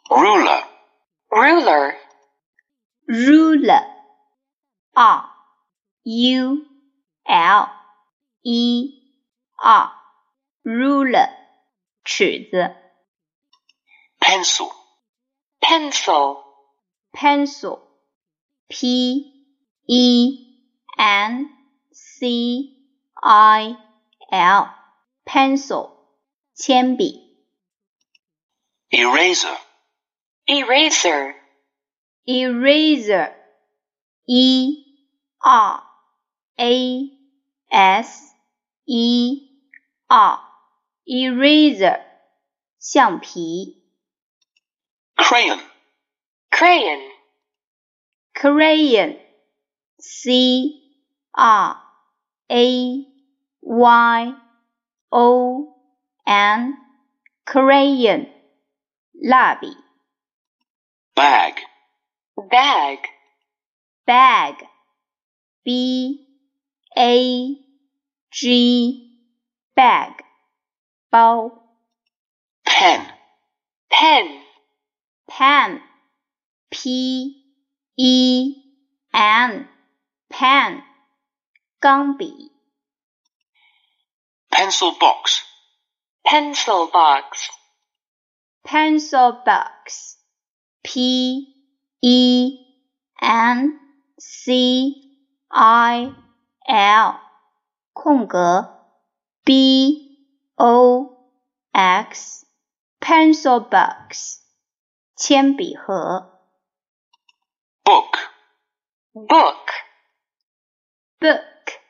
ruler, ruler, ruler, R-U-L-E-R, ruler, 尺子。 pencil, pencil, pencil, P-E-N-C-I-L, pencil, 铅笔。 eraser, eraser, eraser, E-R-A-S-E-R, eraser, 橡皮。 crayon, crayon, crayon, C-R-A-Y-O-N, crayon, 蜡笔。 bag, bag, bag, B-A-G, bag, 包。 pen, pen, pen, P-E-N, pen, 钢笔。 pencil box, pencil box, pencil box, P-E-N-C-I-L, 空格 B-O-X, pencil box, 铅笔盒。 book, book, book,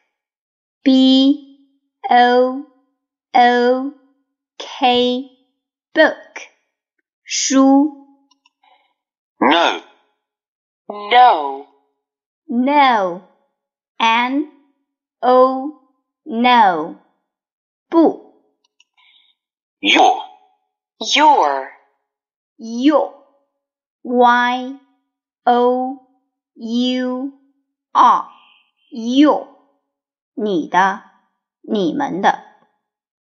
B-O-O-K, book, 书。 no, no, no, N-O, no, 不。 your, your, your, Y-O-U-R, your, 你的，你们的。